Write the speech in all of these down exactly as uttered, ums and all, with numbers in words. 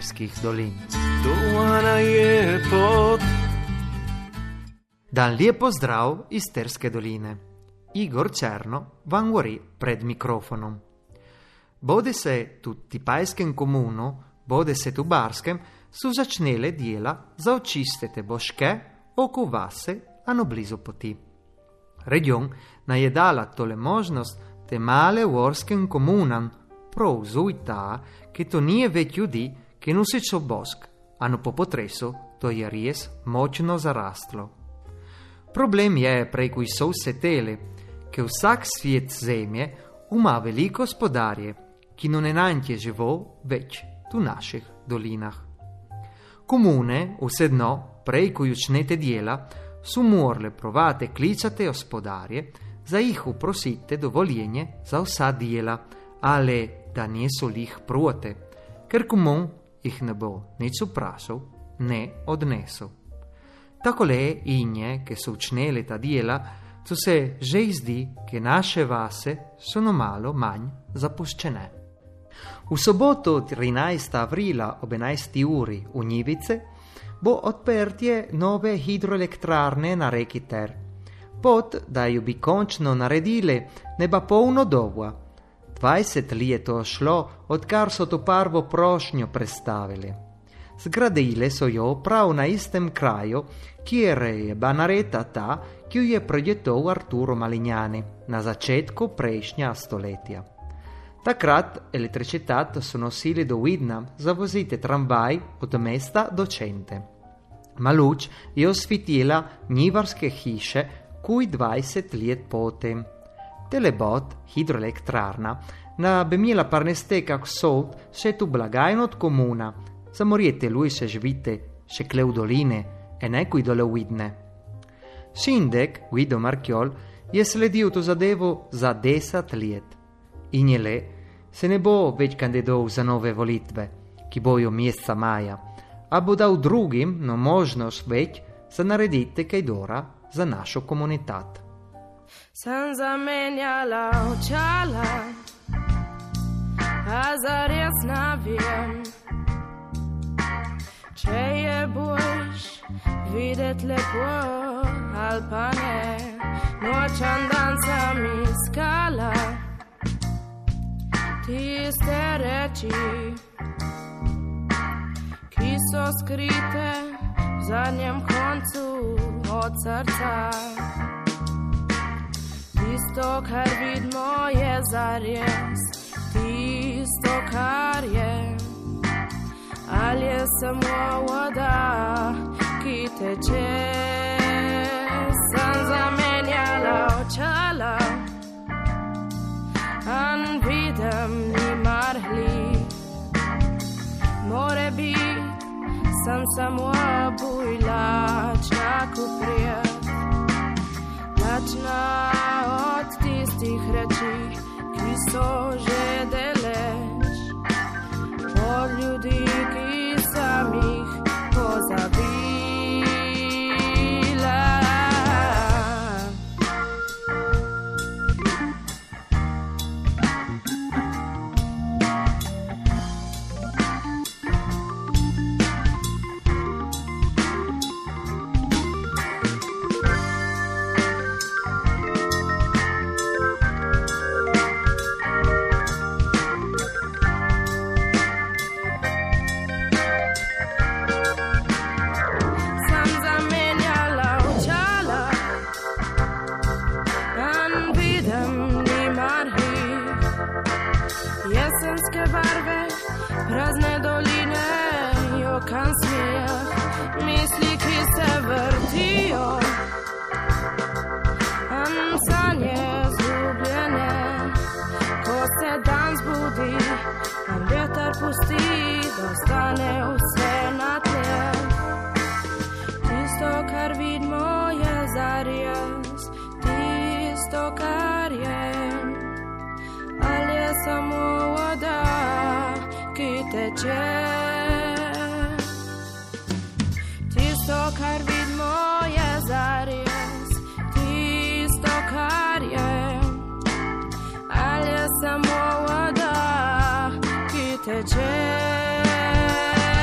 isterskih dolin. Dovana je pot. Dan lijep pozdrav iz Terske doline. Igor Černo vam govori pred mikrofonom. Bode se tu Tipajskem komunu, bode se tu Barskem, su začnele djela za očistite boške oko vase, ano blizu poti. Region je dala tole možnost te male uorskem komunam prav zujta, che to nije već ljudi, che nusičo bosk, ano po potresu to je ries močno zarastlo. Problem je preko so vse tele, che vsak svijet zemlje ima veliko gospodarje, ki non enantje živo več tu naših dolinah. Komune vsedno preko jučnete djela su morale provate kličate gospodarje za ih uprosite dovoljenje za vsa djela, ale da niso lih proti, ker komun ih ne bo nič vprašal, ne odnesel. Takole inje, che so učnele ta djela, co se že zdi, che naše vase sono malo manj zapuščene. V soboto trinajstega aprila ob enajsti uri v Njivice bo odprtje nove hidroelektrarne na reki Ter. Pot, da ju bi končno naredile, ne ba polno dolga. dvajset let to šlo, odkar so to prvo prošnjo predstavili. Zgradile so jo prav na istem kraju, kjer je banareta ta, ki jo je projektoval Arturo Malignani na začetku prejšnja stoletja. Takrat elektricitet so nosili do Vidna za voziti tramvaj od mesta do Cente. Ma luč je osvetila njivarske hiše kuj dvajset let potem. Telebot, hidroelektrarna, na bi imela parneste kak sod še tu blagajno od komuna, za morjete lui se živite še kle v doline, e ne kuj dole Vidne. Šindek, Guido Marchiol, je sledil to zadevo za deset let. In je le, se ne bo več kandidoval za nove volitve, ki bojo mjeseca maja, a bo dal drugim no možnost več za narediti kaj dora za našo komunitat. Sem zamenjala očala, a zares ne vem, če je boljš videti lepo ali pa ne. Nočan dan sem iskala tiste reči, ki so skrite v zadnjem koncu od srca. Tisto, kar vidimo, je zares tisto, kar je. Ali je samo voda, ki teče. Sem zamenjala očala, an vidim nimar hlik. More bit, sem samo bujlačna kuprijat, lačna od tistih reči, ki so že deleč, od ljudi, ki sem jih pozabila. Jesenske barve, prazne doline, jokan smijah, misli, ki se vrtijo. An sanje zgubljene, ko se dan zbudi, an vjetar pusti, da ostane vse na tleh. Tisto, kar vidimo, je zares, tisto, kar je. Ali je samo voda, ki teče. Tisto, kar vidimo, je zares tisto, kar je. Ali je samo voda, ki teče.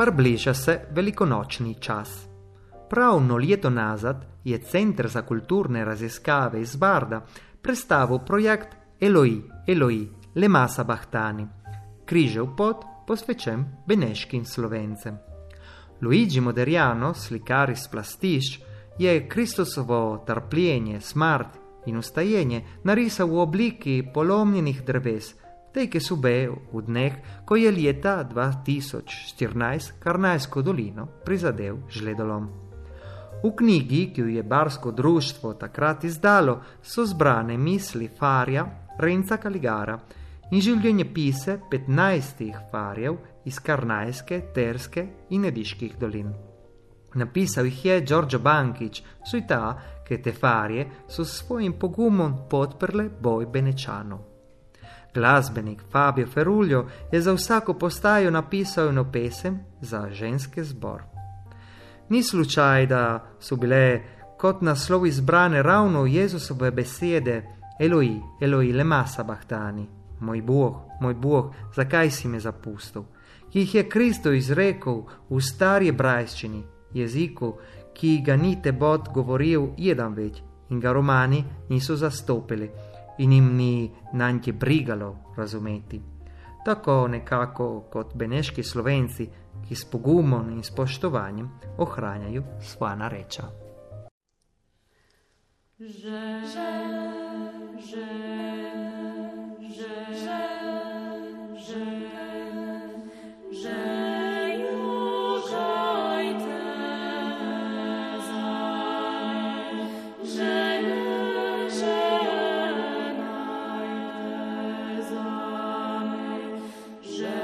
Parbliža se velikonočni čas. Prav no leto nazad je Center za kulturne raziskave iz Barda predstavil projekt Eloi, Eloi, lema sabachtani, križev pot posvečen beneškim Slovencem. Luigi Moderiano, slikar iz Plastišč, je Kristusovo trpljenje, smrt in ustajenje narisal v obliki polomljenih dreves, tej, ki so bile v dneh, ko je leta dva tisoč štirinajst Karnajsko dolino prizadel žledolom. V knjigi, ki jo je Barsko društvo takrat izdalo, so zbrane misli farja Renca Kaligara in življenjepise petnajstih farjev iz Karnajske, Terske in Ediških dolin. Napisal jih je Đorđe Bankić, saj ta, ki te farje so s svojim pogumom podprle boj Benečanov. Glasbenik Fabio Feruljo je za vsako postajo napisal eno pesem za ženski zbor. Ni slučaj, da so bile kot naslov izbrane ravno Jezusove besede Eloi, Eloi, lema sabachtani, moj Bog, moj Bog, zakaj si me zapustil, ki jih je Kristo izrekel v stari hebrejščini, jeziku, ki ga ni Tebot govoril jedan več in ga Romani niso zastopili in jim ni nanj brigalo razumeti. Tako nekako kot beneški Slovenci, ki s pogumom in spoštovanjem ohranjajo svoja narečja. Že, že, že, že, že, že, že, južajte zame, žene, ženajte zame, že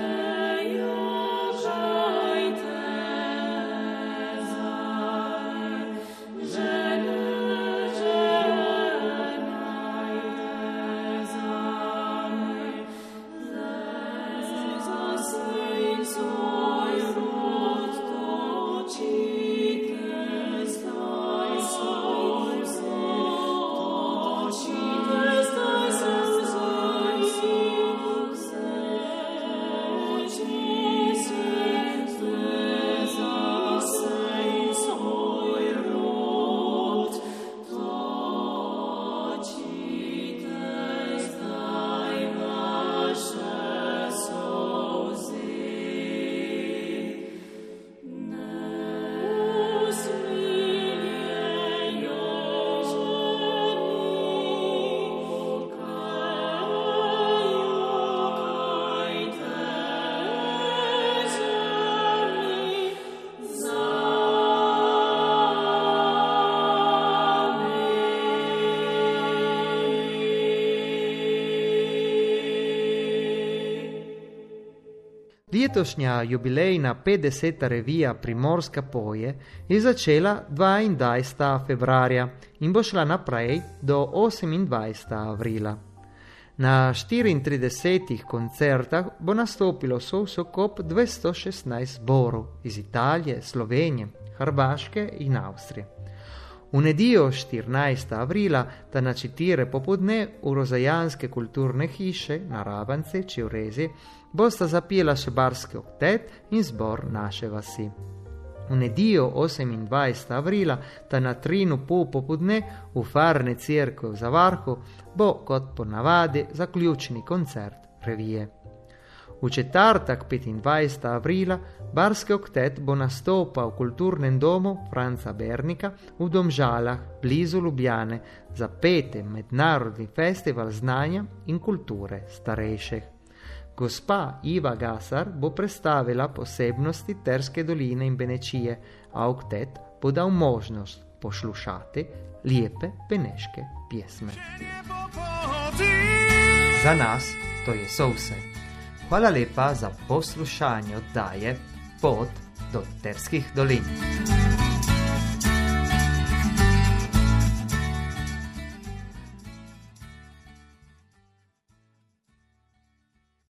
Letošnja jubilejna petdeseta revija Primorska poje je začela dvaindvajsetega februarja in bo šla naprej do osemindvajsetega aprila. Na štiriintridesetih koncertah bo nastopilo sosokop dvesto šestnajst zborov iz Italije, Slovenije, Hrvaške in Avstrije. V nedeljo štirinajstega aprila, ta na četiri popodne v Rozajanske kulturne hiše na Rabance, Čevrezi, bosta zapela še Barski oktet in zbor naše vasi. V nedeljo osemindvajsetega aprila, ta na trinu pol popodne v Farne cerkve v Zavarhu, bo kot ponavadi zaključni koncert revije. V četrtek petindvajsetega aprila Barski oktet bo nastopal v kulturnem domu Franca Bernika v Domžalah blizu Ljubljane za peti mednarodni festival znanja in kulture starejših. Gospa Iva Gasar bo predstavila posebnosti Terske doline in Benečije, a oktet bo dal možnost poslušati lepe beneške pjesme. Za nas to je so vse. Hvala lepa za poslušanje oddaje Pot do Terskih dolin.